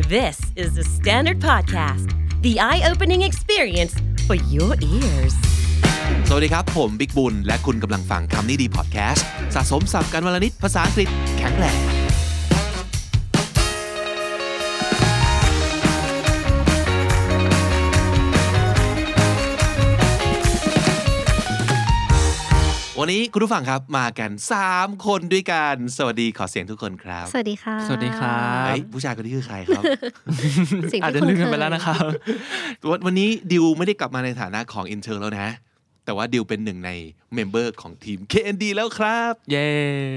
This is the Standard Podcast, the eye-opening experience for your ears. สวัสดีครับผมบิ๊กบุญและคุณกำลังฟังคำนี้ดีพอดแคสต์สะสมศัพท์กันวลนิดภาษาอังกฤษแข็งแรงวันนี้คุณผู้ฟังครับมากัน3คนด้วยกันสวัสดีขอเสียงทุกคนครับสวัสดีค่ะสวัสดีครับผู้ชายคนนี้คือใครครับอาจจะลืมกันไปแล้วนะครับวันนี้ดิวไม่ได้กลับมาในฐานะของ intern แล้วนะแต่ว่าดิวเป็นหนึ่งในเมมเบอร์ของทีม KND แล้วครับเย้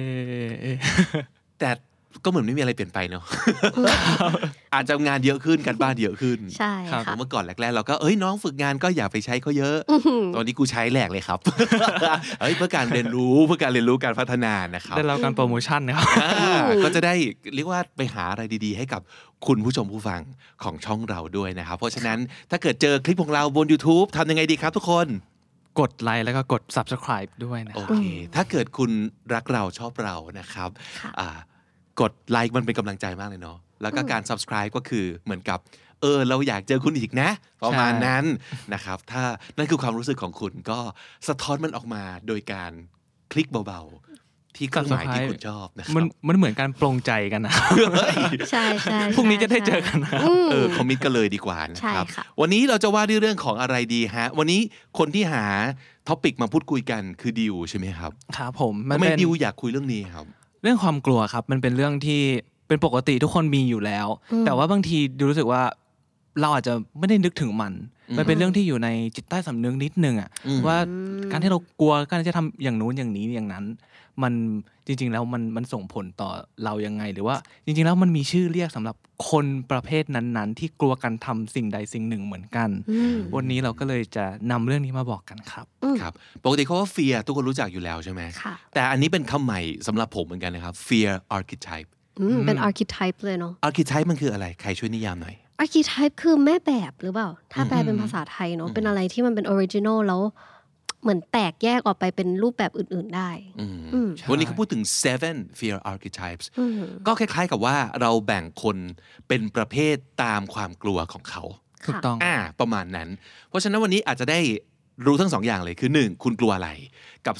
แต่ก็เหมือนไม่มีอะไรเปลี่ยนไปเนาะ อาจจะงานเยอะขึ้นการบ้านเยอะขึ้นใช่ค่ะเมื่อก่อนแรกๆเราก็น้องฝึกงานก็อย่าไปใช้เขาเยอะตอนนี้กูใช้แหลกเลยครับ เพื่อการเรียนรู้การพัฒนานะครับได้รับการโปรโมชั่นนะครับก็จะได้เรียกว่าไปหาอะไรดีๆให้กับคุณผู้ชมผู้ฟังของช่องเราด้วยนะครับเพราะฉะนั้นถ้าเกิดเจอคลิปของเราบน YouTube ทำยังไงดีครับทุกคนกดไลค์แล้วก็กด Subscribe ด้วยนะโอเคถ้าเกิดคุณรักเราชอบเรานะครับกดไลค์มันเป็นกำลังใจมากเลยเนาะแล้วก็การ Subscribe ก็คือเหมือนกับเราอยากเจอคุณอีกนะประมาณนั้นนะครับถ้านั่นคือความรู้สึกของคุณก็สะท้อนมันออกมาโดยการคลิกเบาๆที่เครื่องหมายที่คุณชอบนะครับมันเหมือนการปลงใจกันนะใช่พรุ่งนี้จะได้เจอกันนะคอมมิตกันเลยดีกว่านะครับวันนี้เราจะว่าด้วยเรื่องของอะไรดีฮะวันนี้คนที่หาท็อปิกมาพูดคุยกันคือดิวใช่ไหมครับครับผมทำไมดิวอยากคุยเรื่องนี้ครับเรื่องความกลัวครับมันเป็นเรื่องที่เป็นปกติทุกคนมีอยู่แล้วแต่ว่าบางทีดูรู้สึกว่าเราอาจจะไม่ได้นึกถึงมันเป็นเรื่องที่อยู่ในจิตใต้สำนึกนิดนึงอ่ะว่าการที่เรากลัวการจะทำอย่างนู้นอย่างนี้อย่างนั้นมันจริงๆแล้วมันส่งผลต่อเรายังไงหรือว่าจริงๆแล้วมันมีชื่อเรียกสำหรับคนประเภทนั้นๆที่กลัวการทำสิ่งใดสิ่งหนึ่งเหมือนกันวันนี้เราก็เลยจะนำเรื่องนี้มาบอกกันครับครับปกติเขาว่า fear ทุกคนรู้จักอยู่แล้วใช่ไหมแต่อันนี้เป็นคำใหม่สำหรับผมเหมือนกันนะครับ fear archetype เป็น archetype เลยเนาะ archetype มันคืออะไรใครช่วยนิยามหน่อย archetype คือแม่แบบหรือเปล่าถ้าแปลเป็นภาษาไทยเนาะเป็นอะไรที่มันเป็น original แล้วเหมือนแตกแยกออกไปเป็นรูปแบบอื่นๆได้วันนี้เขาพูดถึง seven fear archetypes ก็คล้ายๆกับว่าเราแบ่งคนเป็นประเภทตามความกลัวของเขาถูกต้องประมาณนั้นเพราะฉะนั้นวันนี้อาจจะได้รู้ทั้งสองอย่างเลยคือ1คุณกลัวอะไรกับ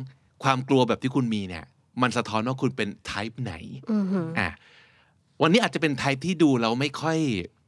2ความกลัวแบบที่คุณมีเนี่ยมันสะท้อนว่าคุณเป็น type ไหนวันนี้อาจจะเป็น type ที่ดูแล้วไม่ค่อย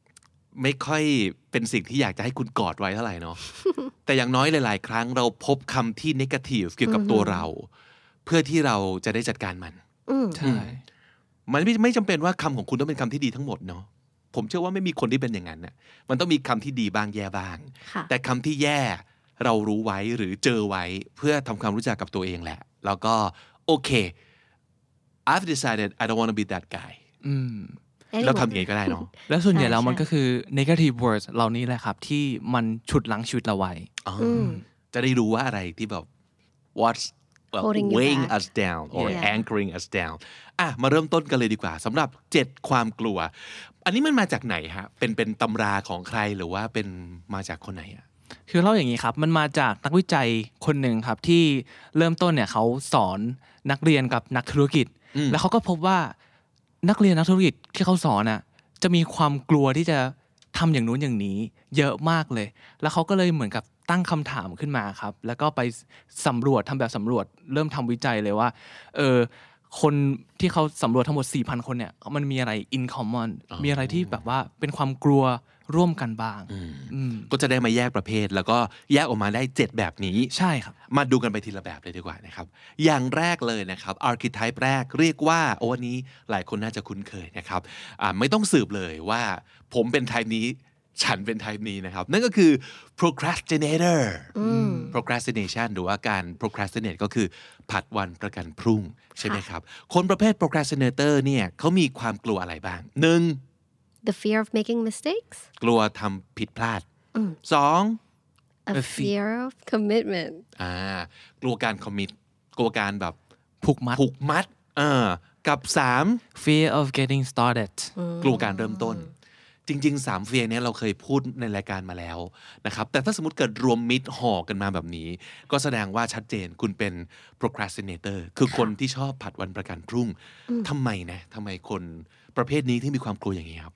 เป็นสิ่งที่อยากจะให้คุณกอดไว้เท่าไหร่เนาะ แต่อย่างน้อยหลายๆครั้งเราพบคำที่ negative เกี่ยวกับตัวเราเพื่อที่เราจะได้จัดการมันใช่มันไม่จำเป็นว่าคำของคุณต้องเป็นคำที่ดีทั้งหมดเนาะผมเชื่อว่าไม่มีคนที่เป็นอย่างนั้นน่ะมันต้องมีคำที่ดีบ้างแย่บ้างแต่คำที่แย่เรารู้ไว้หรือเจอไว้เพื่อทำความรู้จักกับตัวเองแหละแล้วก็โอเค I've decided I don't want to be that guyเราทำอย่างไรก็ได้เนาะแล้วส่วนใหญ่แล้วมันก็คือ negative words เหล่านี้แหละครับที่มันฉุดรั้งชีวิตเราไว้จะได้รู้ว่าอะไรที่แบบ what's weighing us down or anchoring us down มาเริ่มต้นกันเลยดีกว่าสำหรับ7ความกลัวอันนี้มันมาจากไหนฮะเป็นตำราของใครหรือว่าเป็นมาจากคนไหนอ่ะคือเล่าอย่างนี้ครับมันมาจากนักวิจัยคนหนึ่งครับที่เริ่มต้นเนี่ยเขาสอนนักเรียนกับนักธุรกิจแล้วเขาก็พบว่านักเรียนนักธุรกิจที่เขาสอนน่ะจะมีความกลัวที่จะทำอย่างนู้นอย่างนี้เยอะมากเลยแล้วเขาก็เลยเหมือนกับตั้งคำถามขึ้นมาครับแล้วก็ไปสำรวจทำแบบสำรวจเริ่มทำวิจัยเลยว่าคนที่เขาสำรวจทั้งหมด 4,000 คนเนี่ยมันมีอะไร in common มีอะไรที่แบบว่าเป็นความกลัวร่วมกันบ้างก็จะได้มาแยกประเภทแล้วก็แยกออกมาได้7แบบนี้ใช่ครับมาดูกันไปทีละแบบเลยดีกว่านะครับอย่างแรกเลยนะครับ archetype แรกเรียกว่าวันนี้หลายคนน่าจะคุ้นเคยนะครับไม่ต้องสืบเลยว่าผมเป็น type นี้ฉันเป็น type นี้นะครับนั่นก็คือ procrastinator procrastination หรือว่าการ procrastinate ก็คือผัดวันประกันพรุ่งใช่ไหมครับคนประเภท procrastinator เนี่ยเขามีความกลัวอะไรบ้าง 1. the fear of making mistakes กลัวทำผิดพลาด 2. a fear of commitment กลัวการ commit กลัวการแบบผูกมัดกับ 3. fear of getting started กลัวการเริ่มต้นจริงๆ3 fear เนี่ยเราเคยพูดในรายการมาแล้วนะครับแต่ถ้าสมมติเกิดรวมมิดห่อกันมาแบบนี้ก็แสดงว่าชัดเจนคุณเป็น procrastinator คือคนที่ชอบผัดวันประกันพรุ่งทำไมคนประเภทนี้ที่มีความกลัวอย่างนี้ครับ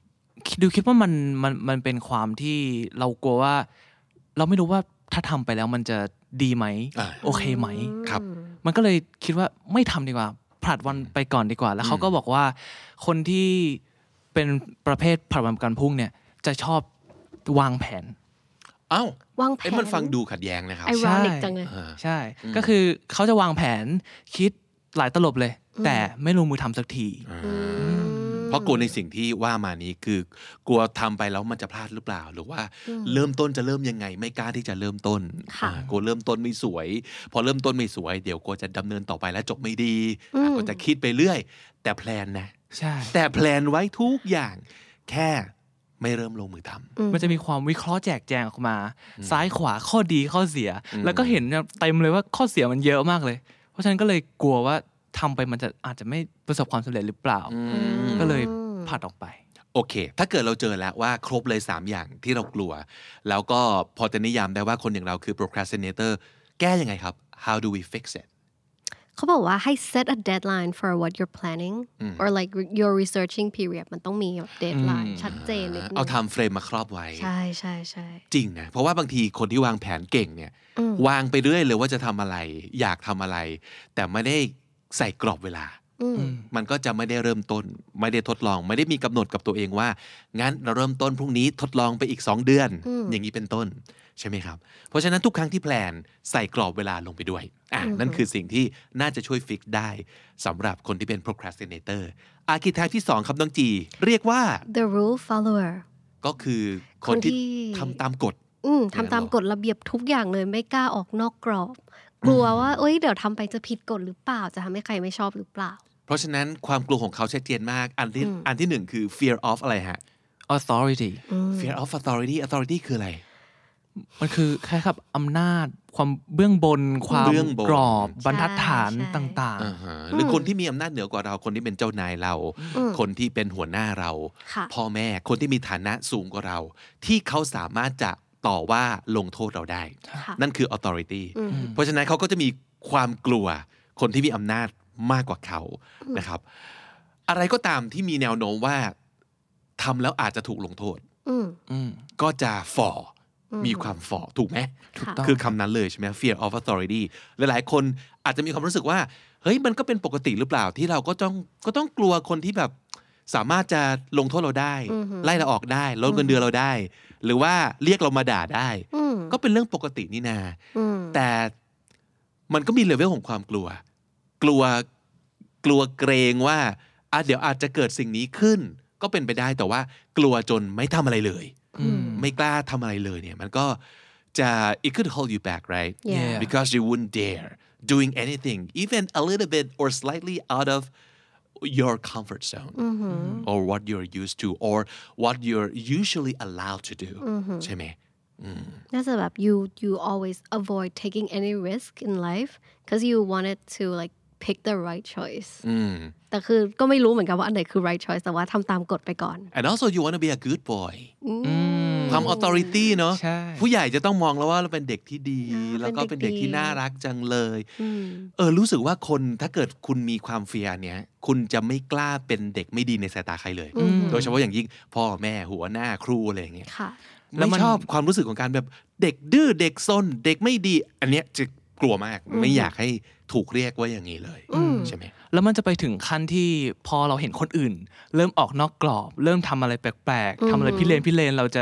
คิดว่ามันเป็นความที่เรากลัวว่าเราไม่รู้ว่าถ้าทำไปแล้วมันจะดีไหมโอเคไหมครับมันก็เลยคิดว่าไม่ทำดีกว่าผลัดวันไปก่อนดีกว่าแล้วเขาก็บอกว่าคนที่เป็นประเภทผลัดวันประกันพรุ่งเนี่ยจะชอบวางแผนอ้าววางแผนมันฟังดูขัดแย้งนะครับ ironic จังเลยใช่ก็คือเขาจะวางแผนคิดหลายตลบเลยแต่ไม่ลงมือทำสักทีเพราะกลัวในสิ่งที่ว่ามานี้คือกลัวทำไปแล้วมันจะพลาดหรือเปล่าหรือว่าเริ่มต้นจะเริ่มยังไงไม่กล้าที่จะเริ่มต้นกลัวเริ่มต้นไม่สวยพอเริ่มต้นไม่สวยเดี๋ยวกลัวจะดำเนินต่อไปแล้วจบไม่ดีก็จะคิดไปเรื่อยแต่แพลนนะใช่แต่แพลนไว้ทุกอย่างแค่ไม่เริ่มลงมือทำมันจะมีความวิเคราะห์แจกแจงออกมาซ้ายขวาข้อดีข้อเสียแล้วก็เห็นเต็มเลยว่าข้อเสียมันเยอะมากเลยเพราะฉะนั้นก็เลยกลัวว่าทำไปมันจะอาจจะไม่ประสบความสำเร็จหรือเปล่าก็เลยผัดออกไปโอเคถ้าเกิดเราเจอแล้วว่าครบเลย3อย่างที่เรากลัวแล้วก็พอจะนิยามได้ว่าคนอย่างเราคือ procrastinator แก้ยังไงครับ how do we fix it เขาบอกว่าให้ set a deadline for what you're planning or like your researching period มันต้องมี deadline ชัดเจนนิดนึงเอา time frame มาครอบไว้ใช่ใช่ใช่จริงนะเพราะว่าบางทีคนที่วางแผนเก่งเนี่ยวางไปเรื่อยเลยว่าจะทำอะไรอยากทำอะไรแต่ไม่ได้ใส่กรอบเวลามันก็จะไม่ได้เริ่มต้นไม่ได้ทดลองไม่ได้มีกำหนดกับตัวเองว่างั้นเราเริ่มต้นพรุ่งนี้ทดลองไปอีก2 เดือนอย่างนี้เป็นต้นใช่ไหมครับเพราะฉะนั้นทุกครั้งที่แพลนใส่กรอบเวลาลงไปด้วยนั่นคือสิ่งที่น่าจะช่วยฟิกได้สำหรับคนที่เป็น procrastinator อาร์คิไทป์ที่2ครับน้องจีเรียกว่า the rule follower ก็คือคนที่ทำตามกฎทำตามกฎระเบียบทุกอย่างเลยไม่กล้าออกนอกกรอบกลัวว่าเดี๋ยวทำไปจะผิดกฎหรือเปล่าจะทำให้ใครไม่ชอบหรือเปล่าเพราะฉะนั้นความกลัวของเขาชัดเจนมากอันที่1คือ fear of อะไรฮะ authority fear of authority คืออะไรมันคือแค่ครับอำนาจความเบื้องบนความกรอบบรรทัดฐานต่างๆหรือคนที่มีอำนาจเหนือกว่าเราคนที่เป็นเจ้านายเราคนที่เป็นหัวหน้าเราพ่อแม่คนที่มีฐานะสูงกว่าเราที่เขาสามารถจะต่อว่าลงโทษเราได้นั่นคือ authority เพราะฉะนั้นเขาก็จะมีความกลัวคนที่มีอำนาจมากกว่าเขานะครับอะไรก็ตามที่มีแนวโน้มว่าทำแล้วอาจจะถูกลงโทษก็จะฝ่อมีความฝ่อถูกไหมคือคำนั้นเลยใช่ไหม fear of authority หลายๆคนอาจจะมีความรู้สึกว่าเฮ้ยมันก็เป็นปกติหรือเปล่าที่เราก็ต้องกลัวคนที่แบบสามารถจะลงโทษเราได้ไล่เราออกได้ลดเงินเดือนเราได้หรือว่าเรียกเรามาด่าได้ก็เป็นเรื่องปกตินี่นาแต่มันก็มีเลเวลของความกลัวเกรงว่าเดี๋ยวอาจจะเกิดสิ่งนี้ขึ้นก็เป็นไปได้แต่ว่ากลัวจนไม่ทำอะไรเลยไม่กล้าทำอะไรเลยเนี่ยมันก็จะ it could hold you back right because you wouldn't dare doing anything even a little bit or slightly out of your comfort zone or what you're used to or what you're usually allowed to do ใช่ไหมน่าจะแบบ you always avoid taking any risk in life because you wanted to like pick the right choice แต่คือก็ไม่รู้เหมือนกันว่าอันไหนคือ right choice แต่ว่าทำตามกฎไปก่อน and also you want to be a good boy ความ authority เนอะผู้ใหญ่จะต้องมองแล้วว่าเราเป็นเด็กที่ดีแล้วก็เป็นเด็กที่น่ารักจังเลยรู้สึกว่าคนถ้าเกิดคุณมีความเฟียร์เนี้ยคุณจะไม่กล้าเป็นเด็กไม่ดีในสายตาใครเลยโดยเฉพาะอย่างยิ่งพ่อแม่หัวหน้าครูอะไรอย่างเงี้ยไม่ชอบความรู้สึกของการแบบเด็กดื้อเด็กซนเด็กไม่ดีอันเนี้ยจะกลัวมากไม่อยากให้ถูกเรียกว่าอย่างนี้เลยใช่ไหมแล้วมันจะไปถึงขั้นที่พอเราเห็นคนอื่นเริ่มออกนอกกรอบเริ่มทำอะไรแปลกๆทำอะไรพิเรนเราจะ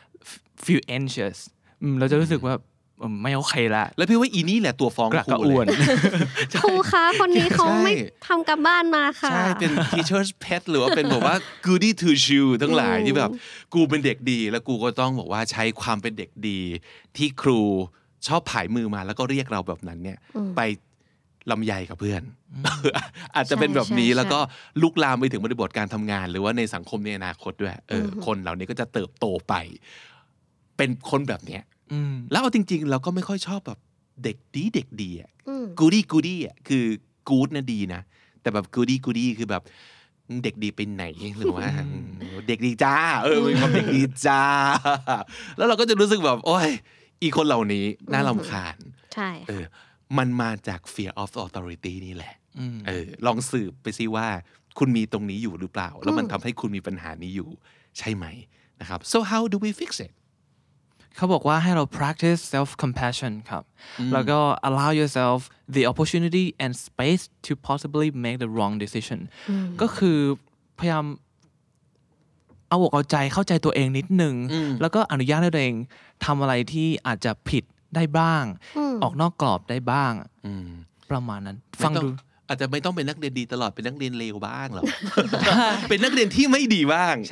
feel anxious เราจะรู้สึกว่าไม่โอเคละแล้วพี่ว่าอีนี่แหละตัวฟ้องครูเลยครูคะคนนี้เขาไม่ทำกับบ้านมาค่ะใช่เป็น teacher's pet หรือว่าเป็นแบบว่า goody two shoe ทั้งหลายที่แบบกูเป็นเด็กดีแล้วกูก็ต้องบอกว่าใช้ความเป็นเด็กดีที่ครูชอบผายมือมาแล้วก็เรียกเราแบบนั้นเนี่ยไปลำไยกับเพื่อน อาจจะเป็นแบบนี้แล้วก็ลุกลามไปถึงบริบทการทำงานหรือว่าในสังคมในอนาคตด้วยคนเหล่านี้ก็จะเติบโตไปเป็นคนแบบเนี้ยแล้วเอาจริงๆเราก็ไม่ค่อยชอบแบบเด็กดีอ่ะกูดี้อ่ะคือกู๊ดนะดีนะแต่แบบกูดี้คือแบบเด็กดีไปไหนหรือว่าเด็กดีจ้ามีความเด็กดีจ้าแล้วเราก็จะรู้สึกแบบโอ๊ยอีคนเหล่านี้น่ารำคาญใช่มันมาจาก fear of authority นี่แหละลองสืบไปซิว่าคุณมีตรงนี้อยู่หรือเปล่าแล้วมันทำให้คุณมีปัญหานี้อยู่ใช่ไหมนะครับ so how do we fix it เขาบอกว่าให้เรา practice self compassion ครับแล้วก็ allow yourself the opportunity and space to possibly make the wrong decision ก็คือพยายามเอาอกเอาใจเข้าใจตัวเองนิดนึงแล้วก็อนุญาตให้ตัวเองทำอะไรที่อาจจะผิดได้บ้างออกนอกกรอบได้บ้างประมาณนั้นฟังดูอาจจะไม่ต้องเป็นนักเรียนดีตลอดเป็นนักเรียนเลวบ้างหรอก เป็นนักเรียนที่ไม่ดีบ้าง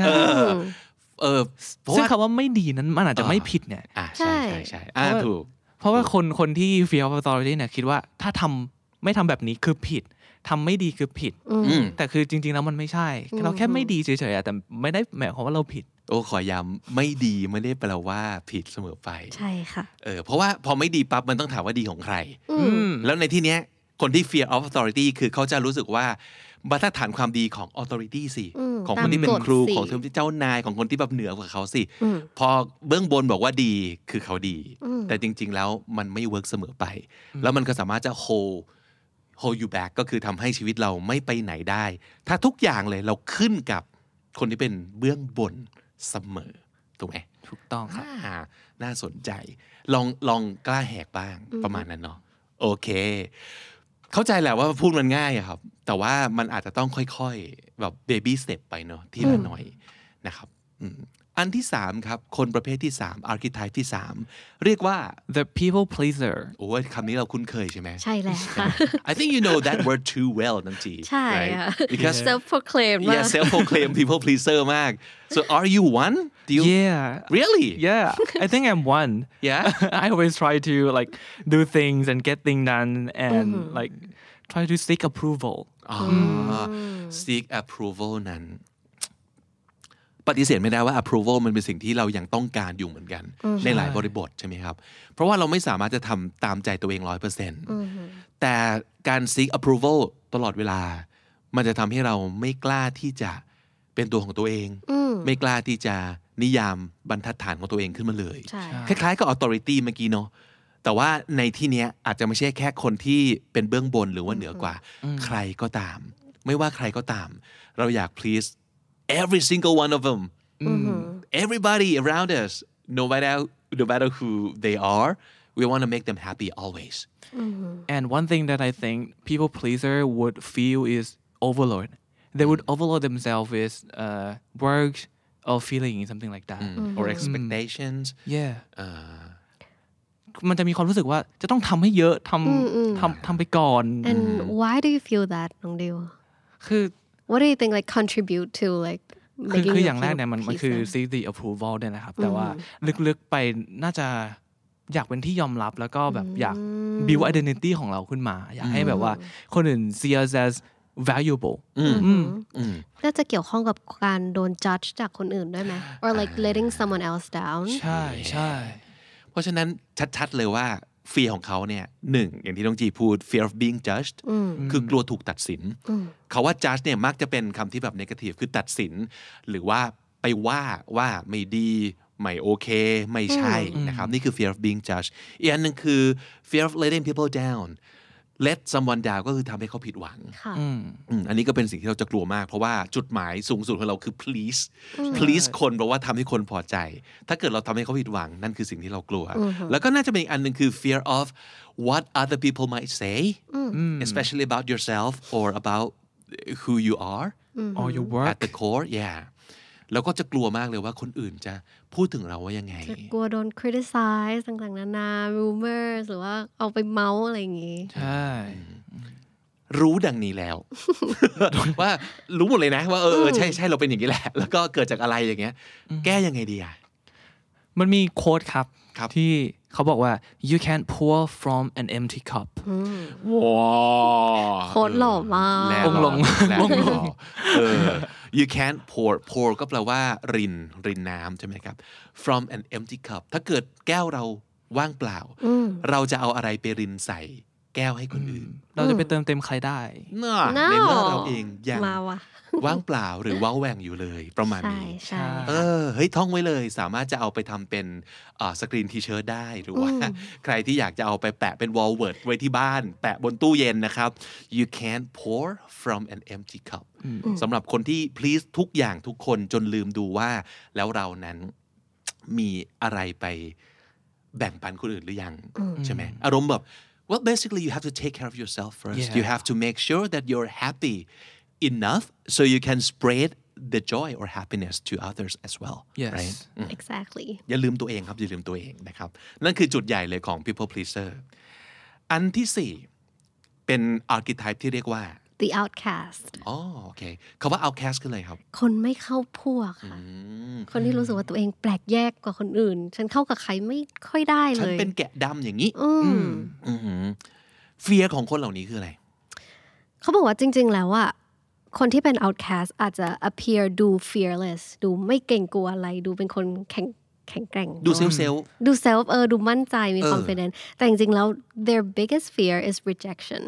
ซึ่งคำว่าไม่ดีนั้นมันอาจจะไม่ผิดเนี่ยใช่ใช่ถูกเพราะว่าคนที่ fear of authority เนี่ยคิดว่าถ้าไม่ทำแบบนี้คือผิดทำไม่ดีคือผิดแต่คือจริงๆแล้วมันไม่ใช่เราแค่ไม่ดีเฉยๆแต่ไม่ได้หมายความว่าเราผิดขอย้ำไม่ดีไม่ได้แปลว่าผิดเสมอไปใช่ค่ะเพราะว่าพอไม่ดีปั๊บมันต้องถามว่าดีของใครแล้วในที่เนี้ยคนที่ fear of authority คือเขาจะรู้สึกว่ามาตรฐานความดีของ authority สิของคนที่เป็นครูของที่เจ้านายของคนที่แบบเหนือกว่าเขาสิพอเบื้องบนบอกว่าดีคือเขาดีแต่จริงๆแล้วมันไม่เวิร์กเสมอไปแล้วมันก็สามารถจะ hold you back ก็คือทำให้ชีวิตเราไม่ไปไหนได้ถ้าทุกอย่างเลยเราขึ้นกับคนที่เป็นเบื้องบนเสมอถูกไหมถูกต้องครับน่าสนใจลองกล้าแหกบ้างประมาณนั้นเนาะโอเคเข้าใจแหละว่าพูดมันง่ายครับแต่ว่ามันอาจจะต้องค่อยๆแบบ baby step ไปเนาะทีละหน่อยนะครับอันที่3ครับคนประเภทที่3 archetype ที่3เรียกว่า the people pleaser โอ้คำนี้เราคุ้นเคยใช่ไหมใช่แล้วค่ะ I think you know that word too well น้องจีใช่ค่ะ because self proclaimed self proclaimed people pleaser มาก so are you one do you really I think I'm one I always try to like do things and get things done and like try to seek approval seek approval นั้นปฏิเสธไม่ได้ว่า approval มันเป็นสิ่งที่เรายังต้องการอยู่เหมือนกันในหลายบริบทใช่ไหมครับเพราะว่าเราไม่สามารถจะทำตามใจตัวเอง 100% แต่การ seek approval ตลอดเวลามันจะทำให้เราไม่กล้าที่จะเป็นตัวของตัวเองไม่กล้าที่จะนิยามบรรทัดฐานของตัวเองขึ้นมาเลยคล้ายๆกับ authority เมื่อกี้เนาะแต่ว่าในที่นี้อาจจะไม่ใช่แค่คนที่เป็นเบื้องบนหรือว่าเหนือกว่าใครก็ตามไม่ว่าใครก็ตามเราอยาก please every single one of them everybody around us no matter who they are we want to make them happy always and one thing that I think people pleaser would feel is overload they would overload themselves with work or feeling something like that or expectations มันจะมีความรู้สึกว่าจะต้องทำให้เยอะทำไปก่อน and why do you feel that น้องดิวคือ what do you think like contribute to like คืออย่างแรกเนี่ยมันคือ seek the approval เนี่ยนะครับแต่ว่าลึกๆไปน่าจะอยากเป็นที่ยอมรับแล้วก็แบบอยาก build identity ของเราขึ้นมาอยากให้แบบว่าคนอื่น see us as valuable น่าจะเกี่ยวข้องกับการโดน judge จากคนอื่นด้วยไหม or like letting someone else down ใช่เพราะฉะนั้นชัดๆเลยว่า fear ของเขาเนี่ยหนึ่งอย่างที่น้องจีพูด fear of being judged คือกลัวถูกตัดสินเขาว่า judge เนี่ยมักจะเป็นคำที่แบบ negative คือตัดสินหรือว่าไปว่าไม่ดีไม่โอเคไม่ใช่นะครับนี่คือ fear of being judged อีกอันนึงคือ fear of letting people down let someone down ก็คือทำให้เขาผิดหวังอันนี้ก็เป็นสิ่งที่เราจะกลัวมากเพราะว่าจุดหมายสูงสุดของเราคือ please คนเพราะว่าทำให้คนพอใจถ้าเกิดเราทำให้เขาผิดหวังนั่นคือสิ่งที่เรากลัวแล้วก็น่าจะเป็นอีกอันนึงคือ fear of what other people might say especially about yourself or about who you are or your work at the core แล้วก็จะกลัวมากเลยว่าคนอื่นจะพูดถึงเราว่ายังไงจะกลัวโดน criticize ต่างๆนานา rumors หรือว่าเอาไปเมาส์อะไรอย่างงี้ใช่รู้ดังนี้แล้ว ว่ารู้หมดเลยนะว่าใช่เราเป็นอย่างนี้แหละแล้วก็เกิดจากอะไรอย่างเงี้ยแก้ยังไงดีมันมีโค้ดครับที่เขาบอกว่า you can't pour from an empty cup ว้าวโค้ดหล่อมากลง you can't pour ก็แปลว่ารินน้ำใช่ไหมครับ from an empty cup ถ้าเกิดแก้วเราว่างเปล่าเราจะเอาอะไรไปรินใส่แก้วให้คนอื่นเราจะไปเติมเต็มใครได้น่ะ No ในเมื่อเราเองยังมาว่ะว่างเปล่าหรือว้าแหว่งอยู่เลยประมาณใช่นี้ใช่เฮ้ยท่องไว้เลยสามารถจะเอาไปทำเป็นสกรีนทีเชิร์ตได้หรือว่าใครที่อยากจะเอาไปแปะเป็นวอลเวิร์ดไว้ที่บ้านแปะบนตู้เย็นนะครับ you can't pour from an empty cup สำหรับคนที่ please ทุกอย่างทุกคนจนลืมดูว่าแล้วเรานั้นมีอะไรไปแบ่งปันคนอื่นหรือยังใช่ไหมอารมณ์แบบ well basically you have to take care of yourself first you have to make sure that you're happy enough so you can spread the joy or happiness to others as well Yes right exactly อย่าลืมตัวเองครับอย่าลืมตัวเองนะครับนั่นคือจุดใหญ่เลยของ people pleaser อันที่สี่เป็น archetype ที่เรียกว่า the outcast อ๋อโอเคคำว่า outcast คืออะไรครับคนไม่เข้าพวกค่ะคนที่รู้สึกว่าตัวเองแปลกแยกกว่าคนอื่นฉันเข้ากับใครไม่ค่อยได้เลยฉันเป็นแกะดำอย่างนี้เฟียร์ของคนเหล่านี้คืออะไรเขาบอกว่าจริงๆแล้วอะคนที่เป็น outcast อาจจะ appear ดู fearless ดูไม่เกรงกลัวอะไรดูเป็นคนแข็งแกร่งดูเซลดู self ดูมั่นใจมี confidence แต่จริงๆแล้ว their biggest fear is rejection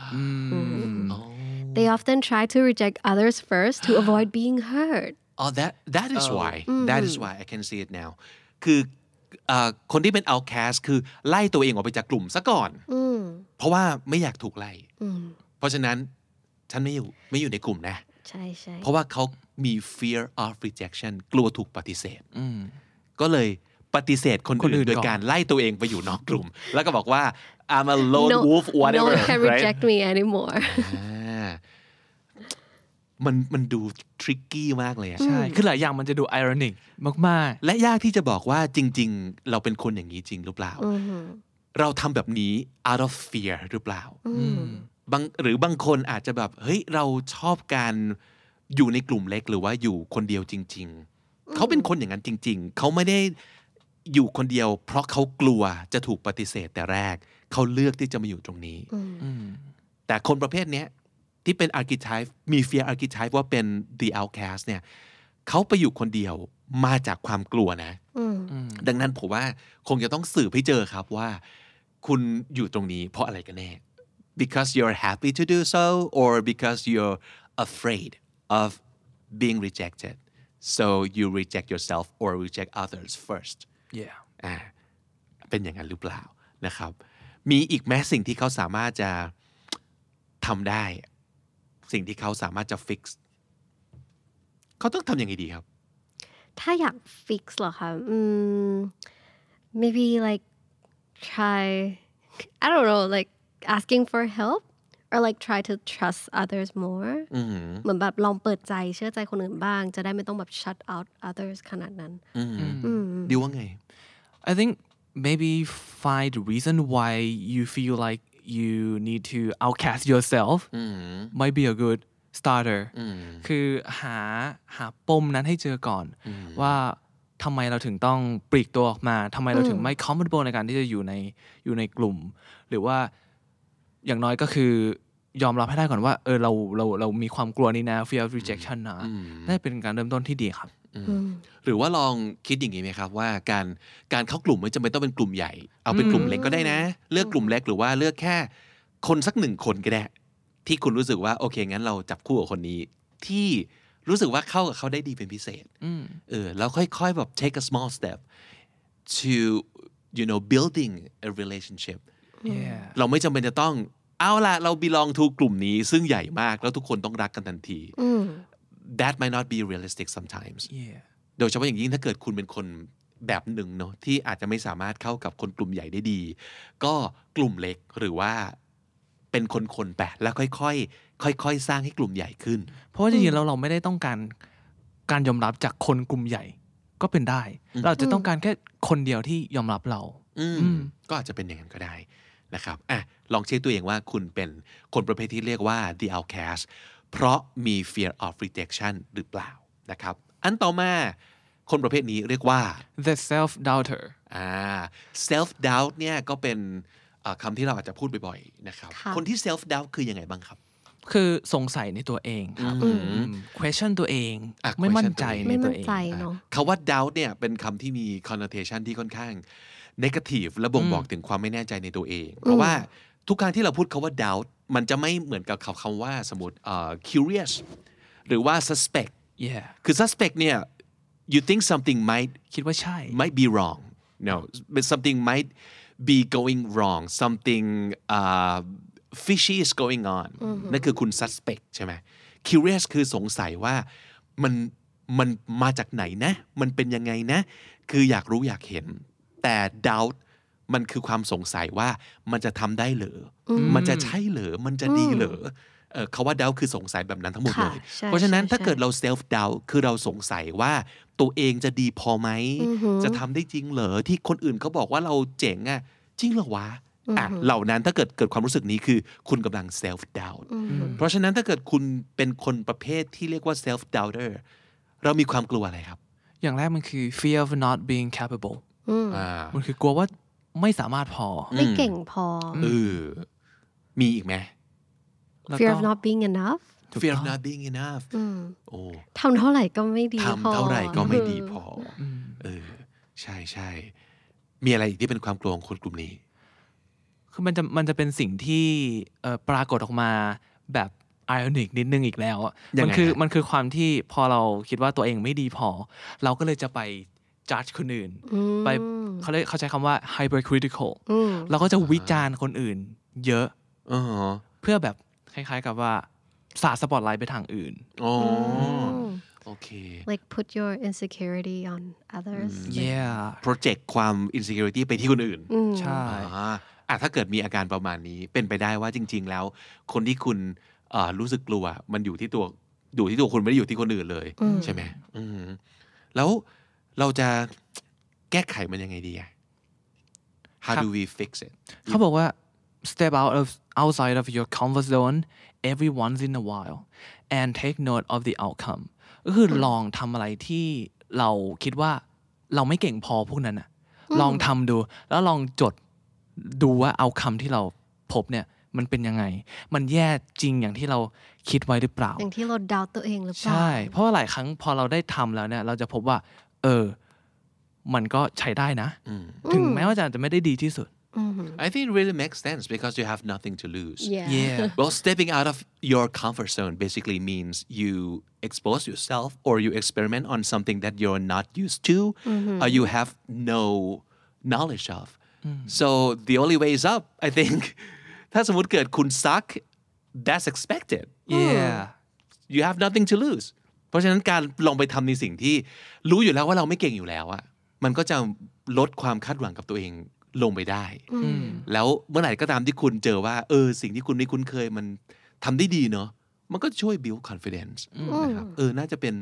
they often try to reject others first to avoid being hurt oh that is why that is why I can see it now คือคนที่เป็น outcast คือไล่ตัวเองออกไปจากกลุ่มซะก่อนเพราะว่าไม่อยากถูกไล่เพราะฉะนั้นฉันไม่อยู่ในกลุ่มนะใช่ใช่เพราะว่าเขามี fear of rejection กลัวถูกปฏิเสธก็เลยปฏิเสธคนอื่นโดยการไล่ตัวเองไปอยู่นอกกลุ่มแล้วก็บอกว่า I'm a lone wolf whatever no one can reject me anymore มันดู tricky มากเลยใช่คือหลายอย่างมันจะดู ironic มากๆและยากที่จะบอกว่าจริงๆเราเป็นคนอย่างนี้จริงหรือเปล่าเราทำแบบนี้ out of fear หรือเปล่าหรือบางคนอาจจะแบบเฮ้ยเราชอบการอยู่ในกลุ่มเล็กหรือว่าอยู่คนเดียวจริงๆเขาเป็นคนอย่างนั้นจริงๆเขาไม่ได้อยู่คนเดียวเพราะเขากลัวจะถูกปฏิเสธแต่แรกเขาเลือกที่จะมาอยู่ตรงนี้แต่คนประเภทนี้ที่เป็น archetype มี fear archetype ว่าเป็น the outcast เนี่ยเขาไปอยู่คนเดียวมาจากความกลัวนะดังนั้นผมว่าคงจะต้องสืบให้เจอครับว่าคุณอยู่ตรงนี้เพราะอะไรกันแน่ because you're happy to do so or because you're afraid of being rejected so you reject yourself or reject others first yeah เป็นอย่างนั้นหรือเปล่านะครับมีอีกแม้สิ่งที่เขาสามารถจะทำได้สิ่งที่เขาสามารถจะ fix เขาต้องทำยังไงดีครับถ้าอยาก fix เหรอคะmaybe like try I don't know like asking for help or like try to trust others more เหมือนแบบลองเปิดใจเชื่อใจคนอื่นบ้างจะได้ไม่ต้องแบบ shut out others ขนาดนั้นดีว่าไง I think maybe find the reason why you feel like you need to outcast yourself might be a good starter คือหาปมนั้นให้เจอก่อนว่าทำไมเราถึงต้องปลีกตัวออกมาทำไมเราถึงไม่ comfortable ในการที่จะอยู่ในกลุ่มหรือว่าอย่างน้อยก็คือยอมรับให้ได้ก่อนว่าเรามีความกลัวนี่นะ fear of rejection นะน่าจะเป็นการเริ่มต้นที่ดีครับหรือว่าลองคิดอย่างนี้ไหมครับว่าการเข้ากลุ่มไม่จำเป็นต้องเป็นกลุ่มใหญ่เอาเป็นกลุ่มเล็กก็ได้นะเลือกกลุ่มเล็กหรือว่าเลือกแค่คนสัก1คนก็ได้ที่คุณรู้สึกว่าโอเคงั้นเราจับคู่กับคนนี้ที่รู้สึกว่าเข้ากับเขาได้ดีเป็นพิเศษแล้วค่อยๆแบบ take a small step to building a relationship เราไม่จำเป็นจะต้องเอาล่ะเรา belong to กลุ่มนี้ซึ่งใหญ่มากแล้วทุกคนต้องรักกันทันที that might not be realistic sometimes โดยเฉพาะอย่างยิ่งถ้าเกิดคุณเป็นคนแบบหนึ่งเนาะที่อาจจะไม่สามารถเข้ากับคนกลุ่มใหญ่ได้ดีก็กลุ่มเล็กหรือว่าเป็นคนๆไปแล้วค่อยๆสร้างให้กลุ่มใหญ่ขึ้นเพราะว่าจริงๆแล้วเราไม่ได้ต้องการยอมรับจากคนกลุ่มใหญ่ก็เป็นได้เราจะต้องการแค่คนเดียวที่ยอมรับเราก็อาจจะเป็นอย่างนั้นก็ได้นะครับลองเช็คตัวเองว่าคุณเป็นคนประเภทที่เรียกว่า the outcast เพราะมี fear of rejection หรือเปล่านะครับอันต่อมาคนประเภทนี้เรียกว่า the self doubter self doubt เนี่ยก็เป็นคำที่เราอาจจะพูดบ่อยๆนะครับคนที่ self doubt คือยังไงบ้างครับคือสงสัยในตัวเองครับquestion ตัวเองไม่มั่นใจในตัวเองคำว่า doubt เนี่ยเป็นคำที่มี connotation ที่ค่อนข้าง negative และบ่งบอกถึงความไม่แน่ใจในตัวเองเพราะว่าทุกครั้งที่เราพูดคำว่า doubt มันจะไม่เหมือนกับคำว่าสมมติ curious หรือว่า suspect yeah คือ suspect เนี่ย you think something คิดว่าใช่ might be wrong no but something might be going wrong something fishy is going on นั่นคือคุณ suspect ใช่ไหม curious คือสงสัยว่ามันมาจากไหนนะมันเป็นยังไงนะคืออยากรู้อยากเห็นแต่ doubt มันคือความสงสัยว่ามันจะทำได้เหรอมันจะใช่เหรอมันจะดีเหรอคำว่า doubt คือสงสัยแบบนั้นทั้งหมดเลยเพราะฉะนั้นถ้าเกิดเรา self doubt คือเราสงสัยว่าตัวเองจะดีพอไหมจะทำได้จริงเหรอที่คนอื่นเขาบอกว่าเราเจ๋งอ่ะจริงเหรอวะเหล่านั้นถ้าเกิดความรู้สึกนี้คือคุณกำลัง self doubt เพราะฉะนั้นถ้าเกิดคุณเป็นคนประเภทที่เรียกว่า self doubter เรามีความกลัวอะไรครับอย่างแรกมันคือ fear of not being capable มันคือกลัวว่าไม่สามารถพอไม่เก่งพอมีอีกไหม fear of not being enough fear of not being enough โอ้ทำเท่าไหร่ก็ไม่ดีพอทำเท่าไหร่ก็ไม่ดีพอใช่ใช่มีอะไรอีกที่เป็นความกลัวของคนกลุ่มนี้คือมันจะเป็นสิ่งที่ปรากฏออกมาแบบไอออนิกนิดนึงอีกแล้วมันคือความที่พอเราคิดว่าตัวเองไม่ดีพอเราก็เลยจะไปjudge คนอื่นไปเขาใช้คำว่า hypercritical เราก็จะวิจารณ์คนอื่นเยอะเพื่อแบบคล้ายๆกับว่าสาดสปอตไลท์ไปทางอื่นโอเค like put your insecurity on others yeah project ความ insecurity ไปที่คนอื่นใช่ถ้าเกิดมีอาการประมาณนี้เป็นไปได้ว่าจริงๆแล้วคนที่คุณรู้สึกกลัวมันอยู่ที่ตัวคุณไม่ได้อยู่ที่คนอื่นเลยใช่ไหมแล้วเราจะแก้ไขมันยังไงดีHow do we fix it เขาบอกว่า step outside of your comfort zone every once in a while and take note of the outcome ก็คือลองทำอะไรที่เราคิดว่าเราไม่เก่งพอพวกนั้นน่ะลองทำดูแล้วลองจดดูว่า outcome ที่เราพบเนี่ยมันเป็นยังไงมันแย่จริงอย่างที่เราคิดไว้หรือเปล่าอย่างที่เราดาวตัวเองหรือเปล่าใช่เพราะว่าหลายครั้งพอเราได้ทำแล้วเนี่ยเราจะพบว่ามันก็ใช้ได้นะถึงแม้ว่าจะไม่ได้ดีที่สุด I think it really makes sense because you have nothing to lose yeah well stepping out of your comfort zone basically means you expose yourself or you experiment on something that you're not used to or you have no knowledge of so the only way is up I think ถ้าสมมติเกิดคุณ suck that's expected yeah you have nothing to lose เพราะฉะนั้นการลองไปทำในสิ่งที่รู้อยู่แล้วว่าเราไม่เก่งอยู่แล้วอะมันก็จะลดความคาดหวังกับตัวเองลงไปได้แล้วเมื่อไหร่ก็ตามที่คุณเจอว่าสิ่งที่คุณไม่คุ้นเคยมันทำได้ดีเนาะมันก็ช่วย build confidence นะครับน่าจะเป็น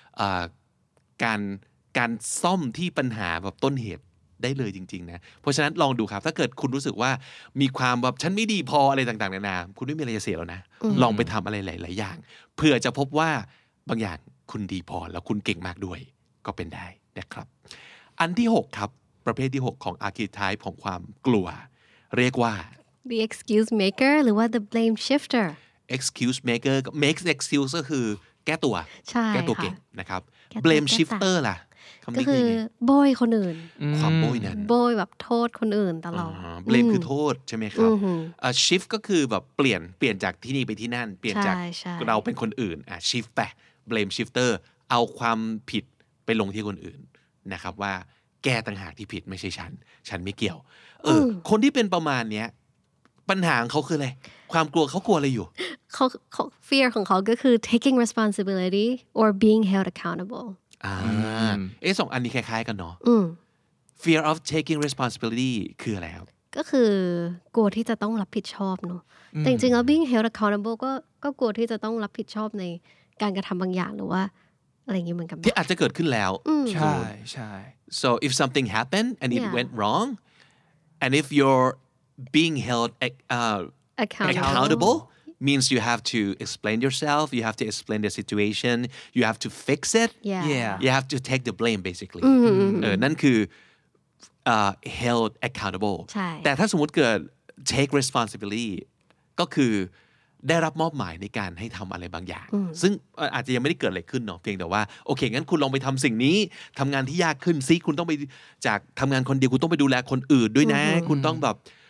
การซ่อมที่ปัญหาแบบต้นเหตุได้เลยจริงๆนะเพราะฉะนั้นลองดูครับถ้าเกิดคุณรู้สึกว่ามีความแบบฉันไม่ดีพออะไรต่างๆนานาคุณไม่มีอะไรจะเสียแล้วนะลองไปทำอะไรหลายๆอย่างเพื่อจะพบว่าบางอย่างคุณดีพอแล้วคุณเก่งมากด้วยก็เป็นได้นะครับอันที่6ครับประเภทที่6ของ archetype ของความกลัวเรียกว่า the excuse maker หรือว่า the blame shifter excuse maker makes excuse ก็คือแก้ตัวแก้ตัวเก่งนะครับ blame shifter ล่ะก็คือโบยคนอื่นความโบยนั้นโบยแบบโทษคนอื่นตลอด blame คือโทษใช่ไหมครับshift ก็คือแบบเปลี่ยนจากที่นี่ไปที่นั่นเปลี่ยนจากเราเป็นคนอื่นshift ไป blame shifter เอาความผิดไปลงที่คนอื่นนะครับว่าแกต่างหากที่ผิดไม่ใช่ฉันไม่เกี่ยวคนที่เป็นประมาณเนี้ยปัญหาของเขาคืออะไรความกลัวเขากลัวอะไรอยู่เขา fear ของเขาก็คือ taking responsibility or being held accountable สองอันนี้คล้ายๆกันเนาะ fear of taking responsibility คืออะไรครับก็คือกลัวที่จะต้องรับผิดชอบเนาะแต่จริงๆแล้ว being held accountable ก็กลัวที่จะต้องรับผิดชอบในการกระทำบางอย่างหรือว่าอะไรอย่างนี้เหมือนกันที่อาจจะเกิดขึ้นแล้วใช่ใช่ so if something happened and it went wrong and if you're being held accountable means you have to explain yourself you have to explain the situation you have to fix it you have to take the blame basically นั่นคือheld accountable แต่ถ้าสมมุติเกิด take responsibility ก็คือได้รับมอบหมายในการให้ทำอะไรบางอย่างซึ่งอาจจะยังไม่ได้เกิดอะไรขึ้นเนาะเพียงแต่ว่าโอเคงั้นคุณลองไปทำสิ่งนี้ทำงานที่ยากขึ้นซิคุณต้องไปจากทำงานคนเดียวคุณต้องไปดูแลคนอื่นด้วยนะคุณต้องแบบ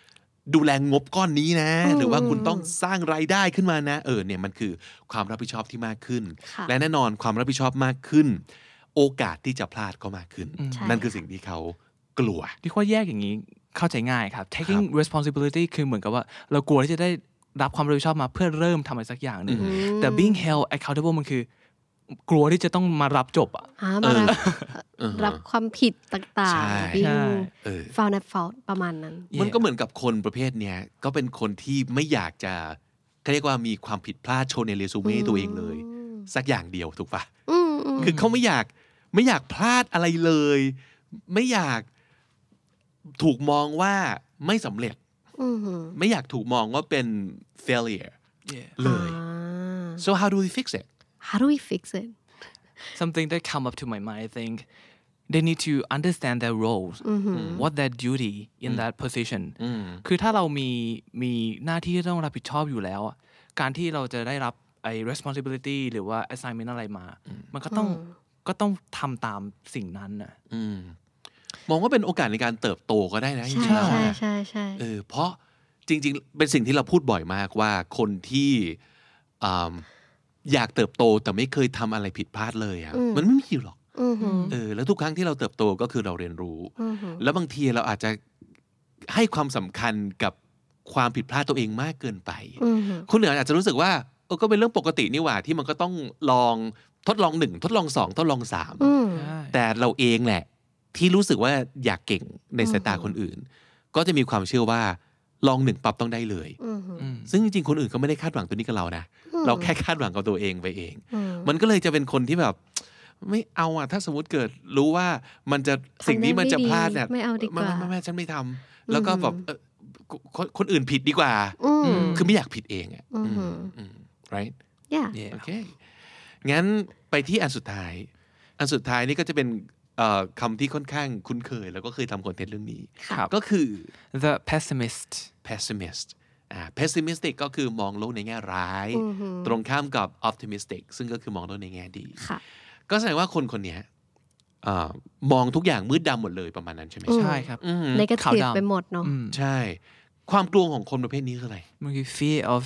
ดูแลงบก้อนนี้นะหรือว่าคุณต้องสร้างรายได้ขึ้นมานะเนี่ยมันคือความรับผิดชอบที่มากขึ้นและแน่นอนความรับผิดชอบมากขึ้นโอกาสที่จะพลาดก็มากขึ้นนั่นคือสิ่งที่เขากลัวที่ว่าแยกอย่างนี้เข้าใจง่ายครับ taking responsibility คือเหมือนกับว่าเรากลัวที่จะได้รับความรับผิดชอบมาเพื่อเริ่มทำอะไรสักอย่างนึงแต่ being held accountable มันคือกลัวที่จะต้องมารับจบมารับความผิดต่างๆ being found at fault ประมาณนั้นมันก็เหมือนกับคนประเภทเนี้ยก็เป็นคนที่ไม่อยากจะเรียกว่ามีความผิดพลาดโชว์ในเรซูเม่ตัวเองเลยสักอย่างเดียวถูกปะคือเขาไม่อยากพลาดอะไรเลยไม่อยากถูกมองว่าไม่สำเร็จไม่อยากถูกมองว่าเป็น failure เลย so how do we fix it something that come up to my mind I think they need to understand their roles what their duty in that position คือถ้าเรามีหน้าที่ที่ต้องรับผิดชอบอยู่แล้วการที่เราจะได้รับไอ้ responsibility หรือว่า assignment อะไรมามันก็ต้องทำตามสิ่งนั้นนะมองว่าเป็นโอกาสในการเติบโตก็ได้นะใช่เพราะจริงๆเป็นสิ่งที่เราพูดบ่อยมากว่าคนที่อยากเติบโตแต่ไม่เคยทำอะไรผิดพลาดเลยมันไม่มีหรอกแล้วทุกครั้งที่เราเติบโตก็คือเราเรียนรู้แล้วบางทีเราอาจจะให้ความสำคัญกับความผิดพลาดตัวเองมากเกินไปคนอื่นอาจจะรู้สึกว่าก็เป็นเรื่องปกตินี่หว่าที่มันก็ต้องลองทดลอง1ทดลอง2ทดลอง3แต่เราเองแหละที่รู้สึกว่าอยากเก่งในสายตาคนอื่นก็จะมีความเชื่อว่าลอง1ปั๊บต้องได้เลยซึ่งจริงๆคนอื่นเขาไม่ได้คาดหวังตัวนี้กับเรานะเราแค่คาดหวังกับตัวเองไปเองมันก็เลยจะเป็นคนที่แบบไม่เอาถ้าสมมติเกิดรู้ว่ามันจะสิ่งนี้มันจะพลาดเนี่ยไม่เอาดีกว่าไม่ฉันไม่ทำแล้วก็แบบคนอื่นผิดดีกว่าคือไม่อยากผิดเองright yeah okay งั้นไปที่อันสุดท้ายนี่ก็จะเป็นคำที่ค่อนข้างคุ้นเคยแล้วก็เคยทำคอนเทนต์เรื่องนี้ก็คือ the pessimist pessimistic ก็คือมองโลกในแง่ร้ายตรงข้ามกับ optimistic ซึ่งก็คือมองโลกในแง่ดีก็แสดงว่าคนนี้มองทุกอย่างมืดดำหมดเลยประมาณนั้นใช่ไหมใช่ครับ negative ไปหมดเนาะใช่ความกลัวของคนประเภทนี้คืออะไรมันคือ fear of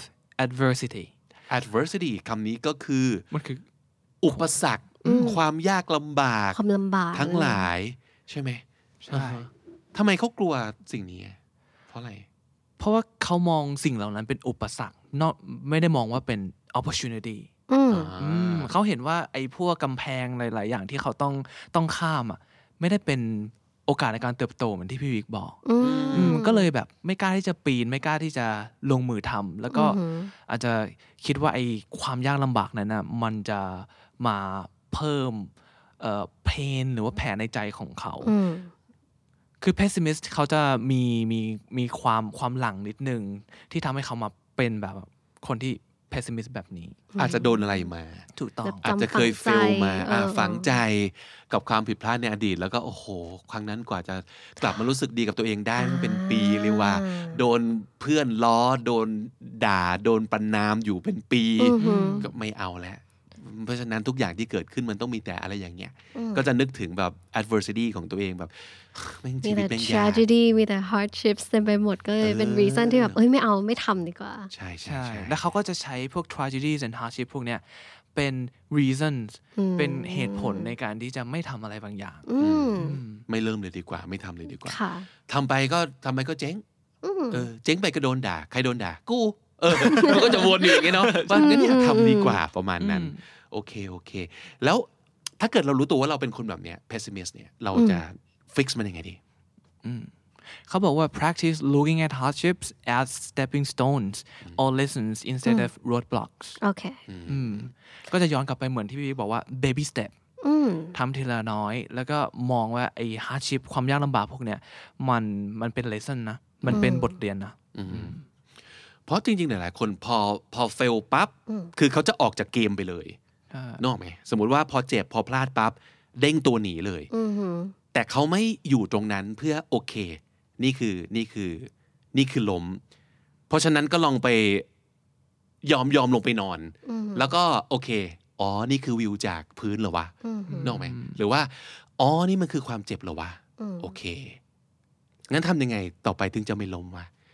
adversity คำนี้ก็คือมันคืออุปสรรคความยากลำบากทั้งหลายใช่ไหมใช่ทำไมเขากลัวสิ่งนี้เพราะอะไรเพราะว่าเขามองสิ่งเหล่านั้นเป็นอุปสรรคไม่ได้มองว่าเป็น opportunity เขาเห็นว่าไอ้พวกกำแพงหลายๆอย่างที่เขาต้องข้ามไม่ได้เป็นโอกาสในการเติบโตเหมือนที่พี่วิกบอกก็เลยแบบไม่กล้าที่จะปีนไม่กล้าที่จะลงมือทำแล้วก็อาจจะคิดว่าไอ้ความยากลำบากนั้นนะมันจะมาเพิ่มเพนหรือว่าแผลในใจของเขาคือ pessimist เขาจะมีความหลังนิดนึงที่ทำให้เขามาเป็นแบบคนที่ pessimist แบบนี้อาจจะโดนอะไรมาถูกต้องอาจจะเคยเฟลมาฝังใจกับความผิดพลาดในอดีตแล้วก็โอ้โหครั้งนั้นกว่าจะกลับมารู้สึกดีกับตัวเองได้มันเป็นปีเลยว่าโดนเพื่อนล้อโดนด่าโดนประณามอยู่เป็นปีก็ไม่เอาแล้วเพราะฉะนั้นทุกอย่างที่เกิดขึ้นมันต้องมีแต่อะไรอย่างเงี้ยก็จะนึกถึงแบบ adversity ของตัวเองแบบมีแต่ tragedy มีแต่ hardships เต็มไปหมดก็เลยเป็น reason ที่แบบไม่เอาไม่ทำดีกว่าใช่แล้วเขาก็จะใช้พวก tragedies and hardship พวกเนี้ยเป็น reasons เป็นเหตุผลในการที่จะไม่ทำอะไรบางอย่างไม่เริ่มเลยดีกว่าไม่ทำเลยดีกว่าทำไปก็เจ๊งเจ๊งไปก็โดนด่าใครโดนด่ากูมันก็จะวนอยู่อย่างเงี้ยเนาะว่างั้นอย่าทำดีกว่าประมาณนั้นโอเคแล้วถ้าเกิดเรารู้ตัวว่าเราเป็นคนแบบเนี้ย pessimist เนี่ยเราจะ fix มันยังไงดีเขาบอกว่า practice looking at hardships as stepping stones or lessons instead of roadblocks โอเคก็จะย้อนกลับไปเหมือนที่พี่บอกว่า baby step ทำทีละน้อยแล้วก็มองว่าไอ้ hardship ความยากลำบากพวกเนี้ยมันเป็น lesson นะมันเป็นบทเรียนนะเพราะจริงๆหลายๆคนพอเฟลปั๊บคือเขาจะออกจากเกมไปเลยนึกออกไหมสมมุติว่าพอเจ็บพอพลาดปั๊บเด้งตัวหนีเลยแต่เขาไม่อยู่ตรงนั้นเพื่อโอเคนี่คือล้มเพราะฉะนั้นก็ลองไปยอมลงไปนอนแล้วก็โอเคนี่คือวิวจากพื้นเหรอวะนึกออกไหมหรือว่านี่มันคือความเจ็บเหรอวะโอเคงั้นทำยังไงต่อไปถึงจะไม่ล้มวะ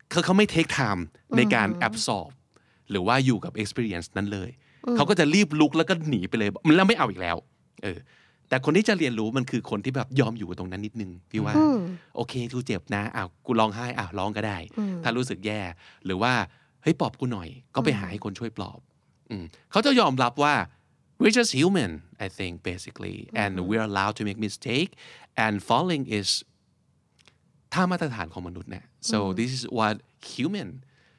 เขาไม่ take time ในการ absorb หรือว่าอยู่กับ experience นั้นเลยเขาก็จะรีบลุกแล้วก็หนีไปเลยแล้วไม่เอาอีกแล้วแต่คนที่จะเรียนรู้มันคือคนที่แบบยอมอยู่กับตรงนั้นนิดนึงพี่ว่าโอเคกูเจ็บนะกูร้องไห้ร้องก็ได้ถ้ารู้สึกแย่หรือว่าเฮ้ยปลอบกูหน่อยก็ไปหาให้คนช่วยปลอบเขาจะยอมรับว่า we're just human I think basically and we're allowed to make mistake and falling is ท่ามาตรฐานของมนุษย์เนี่ย so this is what human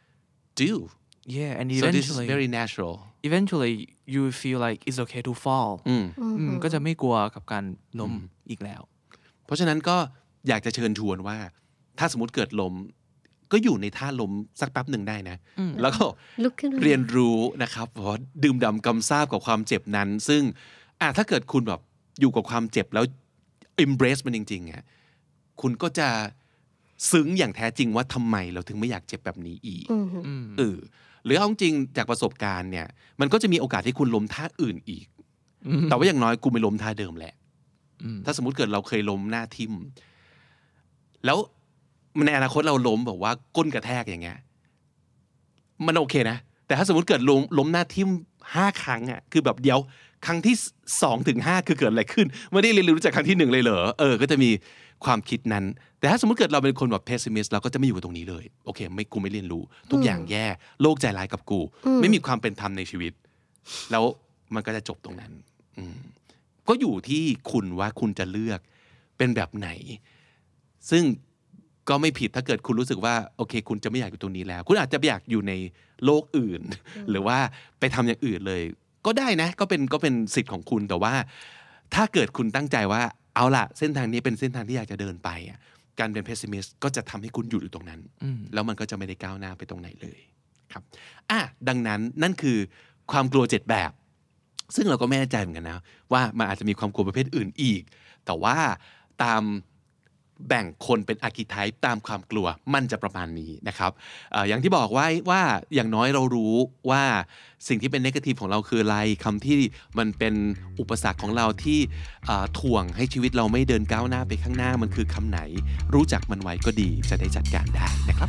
do yeah and so this is very natural eventually you feel like it's okay to fall ก็จะไม่กลัวกับการล้มอีกแล้วเพราะฉะนั้นก็อยากจะเชิญชวนว่าถ้าสมมติเกิดล้มก็อยู่ในท่าล้มสักแป๊บหนึ่งได้นะแล้วก็เรียนรู้นะครับเพราะดื่มด่ำกำซาบกับความเจ็บนั้นซึ่งถ้าเกิดคุณแบบอยู่กับความเจ็บแล้ว embrace มันจริงๆคุณก็จะซึ้งอย่างแท้จริงว่าทำไมเราถึงไม่อยากเจ็บแบบนี้อีกหรือเอาจริงจากประสบการณ์เนี่ยมันก็จะมีโอกาสที่คุณล้มท่าอื่นอีกแต่ว่าอย่างน้อยกูไม่ล้มท่าเดิมแหละถ้าสมมุติเกิดเราเคยล้มหน้าทิ่มแล้วในอนาคตเราล้มแบบว่าก้นกระแทกอย่างเงี้ยมันโอเคนะแต่ถ้าสมมติเกิดล้มหน้าทิ่ม5 ครั้งคือแบบเดียวครั้งที่2 ถึง 5คือเกิดอะไรขึ้นไม่ได้เรียนรู้จากครั้งที่1เลยเหรอก็จะมีความคิดนั้นแต่ถ้าสมมติเกิดเราเป็นคนแบบ pessimist เราก็จะไม่อยู่ตรงนี้เลยโอเคกูไม่เรียนรู้ทุกอย่างแย่โลกใจร้ายกับกูไม่มีความเป็นธรรมในชีวิตแล้วมันก็จะจบตรงนั้นก็อยู่ที่คุณว่าคุณจะเลือกเป็นแบบไหนซึ่งก็ไม่ผิดถ้าเกิดคุณรู้สึกว่าโอเคคุณจะไม่อยากอยู่ตรงนี้แล้วคุณอาจจะอยากอยู่ในโลกอื่นหรือว่าไปทำอย่างอื่นเลยก็ได้นะก็เป็นสิทธิ์ของคุณแต่ว่าถ้าเกิดคุณตั้งใจว่าเอาล่ะเส้นทางนี้เป็นเส้นทางที่อยากจะเดินไปการเป็น pessimist ก็จะทำให้คุณหยุดอยู่ตรงนั้นแล้วมันก็จะไม่ได้ก้าวหน้าไปตรงไหนเลยครับดังนั้นนั่นคือความกลัว7 แบบซึ่งเราก็ไม่แน่ใจเหมือนกันนะว่ามันอาจจะมีความกลัวประเภทอื่นอีกแต่ว่าตามแบ่งคนเป็น archetype ตามความกลัวมันจะประมาณนี้นะครับอย่างที่บอกไว้ว่าอย่างน้อยเรารู้ว่าสิ่งที่เป็น negative ของเราคืออะไรคำที่มันเป็นอุปสรรคของเราที่ถ่วงให้ชีวิตเราไม่เดินก้าวหน้าไปข้างหน้ามันคือคำไหนรู้จักมันไว้ก็ดีจะได้จัดการได้นะครับ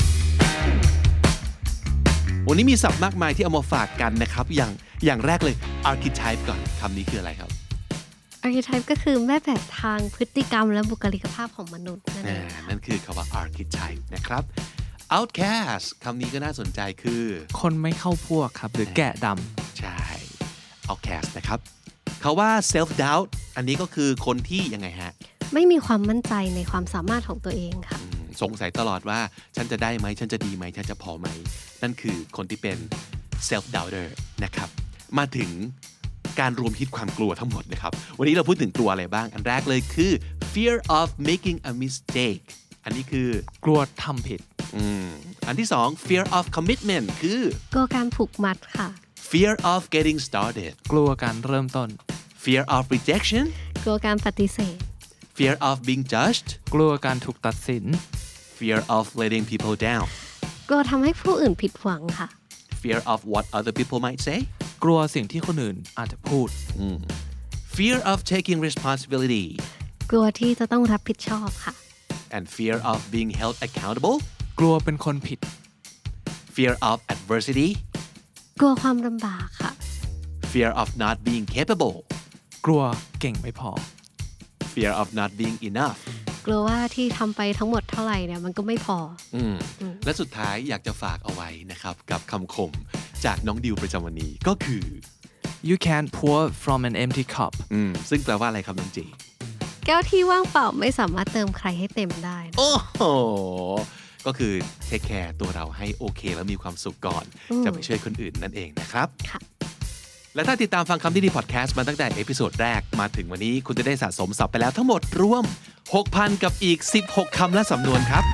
วันนี้มีศัพท์มากมายที่เอามาฝากกันนะครับอย่างแรกเลย archetype ก่อนคำนี้คืออะไรครับ archetype ก็คือแม่แบบทางพฤติกรรมและบุคลิกภาพของมนุษย์นั่นคือคำว่า archetype นะครับ outcast คำนี้ก็น่าสนใจคือคนไม่เข้าพวกครับหรือแกะดำใช่ outcast นะครับคำว่า self doubt อันนี้ก็คือคนที่ยังไงฮะไม่มีความมั่นใจในความสามารถของตัวเองค่ะสงสัยตลอดว่าฉันจะได้ไหมฉันจะดีไหมฉันจะพอไหมนั่นคือคนที่เป็น self doubter นะครับมาถึงการรวมฮิตความกลัวทั้งหมดนะครับวันนี้เราพูดถึงกลัวอะไรบ้างอันแรกเลยคือ fear of making a mistake อันนี้คือกลัวทำผิดอันที่2 fear of commitment คือกลัวการผูกมัดค่ะ fear of getting started กลัวการเริ่มต้น fear of rejection กลัวการปฏิเสธ fear of being judged กลัวการถูกตัดสิน fear of letting people down กลัวทำให้ผู้อื่นผิดหวังค่ะ fear of what other people might say กลัวสิ่งที่คนอื่นอาจจะพูด fear of taking responsibility กลัวที่จะต้องรับผิดชอบค่ะ and fear of being held accountable กลัวเป็นคนผิด fear of adversity กลัวความลำบากค่ะ fear of not being capable กลัวเก่งไม่พอ fear of not being enough กลัวว่าที่ทำไปทั้งหมดเท่าไหร่เนี่ยมันก็ไม่พอและสุดท้ายอยากจะฝากเอาไว้นะครับกับคำคมจากน้องดิวประจำวันนี้ก็คือ You can't pour from an empty cup ซึ่งแปลว่าอะไรครับน้องจีแก้วที่ว่างเปล่าไม่สามารถเติมใครให้เต็มได้โอ้โหก็คือเทคแคร์ตัวเราให้โอเคแล้วมีความสุขก่อนจะไปช่วยคนอื่นนั่นเองนะครับค่ะและถ้าติดตามฟังคำที่ดีพอดแคสต์มาตั้งแต่เอพิโซดแรกมาถึงวันนี้คุณจะได้สะสมศัพท์ไปแล้วทั้งหมดรวม 6,000 กับอีก16คำและสำนวนครับ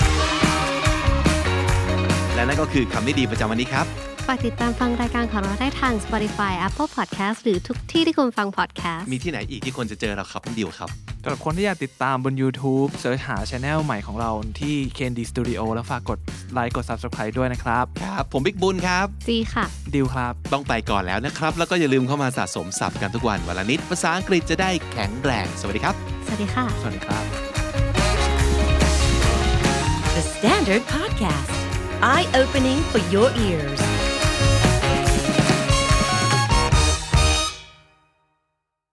และนั่นก็คือคำที่ดีประจำวันนี้ครับฝากติดตามฟังรายการของเราได้ทาง Spotify Apple Podcast หรือทุกที่ที่คุณฟัง podcast มีที่ไหนอีกที่คนจะเจอเราครับน้องดิวครับสำหรับคนที่อยากติดตามบน YouTube เสิร์ชหา Channel ใหม่ของเราที่ KND Studio แล้วฝากกดไลค์กด Subscribe ด้วยนะครับครับผมบิ๊กบุญครับจีค่ะดิวครับต้องไปก่อนแล้วนะครับแล้วก็อย่าลืมเข้ามาสะสมศัพท์กันทุกวันละนิดภาษาอังกฤษจะได้แข็งแรงสวัสดีครับสวัสดีค่ะสวัสดีครับ The Standard Podcast Eye opening for your ears